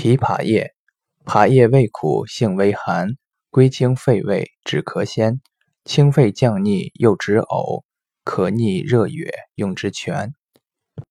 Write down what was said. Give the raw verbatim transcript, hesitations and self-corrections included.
枇杷叶，杷叶味苦，性微寒，归经肺胃，止咳鲜，清肺降逆，又止呕，可逆热哕，用之全。